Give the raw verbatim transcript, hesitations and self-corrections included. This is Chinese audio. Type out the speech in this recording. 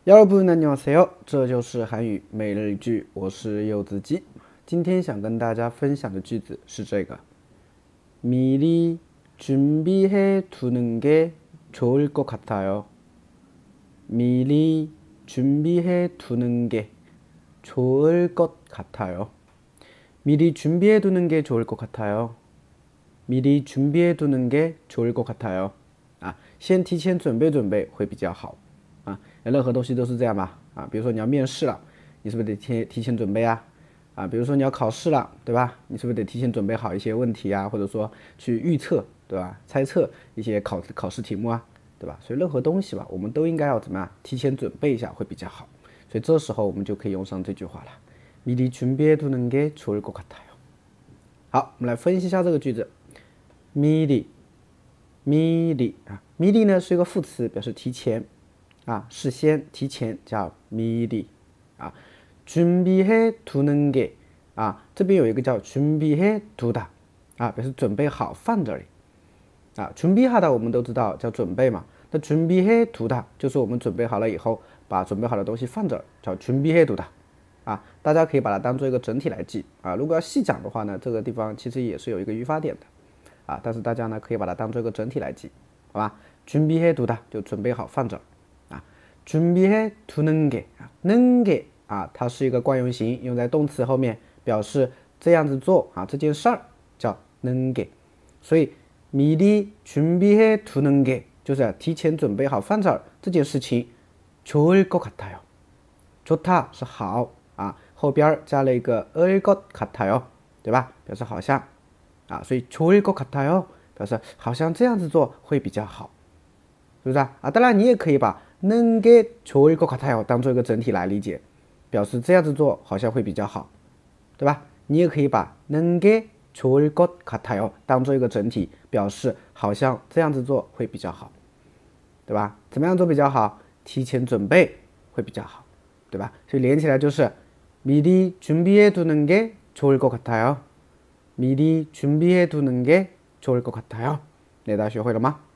여러분 안녕하세요，这就是韩语每日一句，我是柚子鸡。今天想跟大家分享的句子是这个，미리준비해두는게좋을것같아요。 미리준비해두는게좋을것같아요。 미리준비해두는게좋을것같아요。 미리준비해두는게좋을것같아요。 啊，先提前准备准备会比较好。啊，任何东西都是这样吧？啊，比如说你要面试了，你是不是得提提前准备啊？啊，比如说你要考试了，对吧？你是不是得提前准备好一些问题啊，或者说去预测，对吧？猜测一些考考试题目啊，对吧？所以任何东西吧，我们都应该要怎么样？提前准备一下会比较好。所以这时候我们就可以用上这句话了。미리준비해두는게좋을것같아요。 好，我们来分析一下这个句子。미리， 미리啊，미리呢是一个副词，表示提前。啊，事先提前叫미리啊，준비해두는 게啊，这边有一个叫준비해두다啊，表示准备好放这里啊。준비하다我们都知道叫准备嘛，那준비해두다就是我们准备好了以后，把准备好的东西放这儿，叫준비해두다啊。大家可以把它当做一个整体来记啊。如果要细讲的话呢，这个地方其实也是有一个语法点的啊，但是大家呢可以把它当做一个整体来记，好吧？준비해두다就准备好放这儿。준비해두는 게， 는 게啊，它是一个惯用型，用在动词后面，表示这样子做啊，这件事儿叫는 게。 所以미리준비해두는 게就是提前准备好放这儿这件事情，좋을것같아요。 좋다是好啊，后边加了一个을것같아요， 对吧？表示好像啊，所以좋을것같아요表示好像这样子做会比较好，是不是啊？啊，当然你也可以把能给좋을것같아요当做一个整体来理解，表示这样子做好像会比较好，对吧？你也可以把能给좋을것같아요当做一个整体，表示好像这样子做会比较好，对吧？怎么样做比较好？提前准备会比较好，对吧？所以连起来就是미리준비해두는 게 좋을 것 같아요。 미리 준비해두는 게 좋을 것 같아요。 大家学会了吗？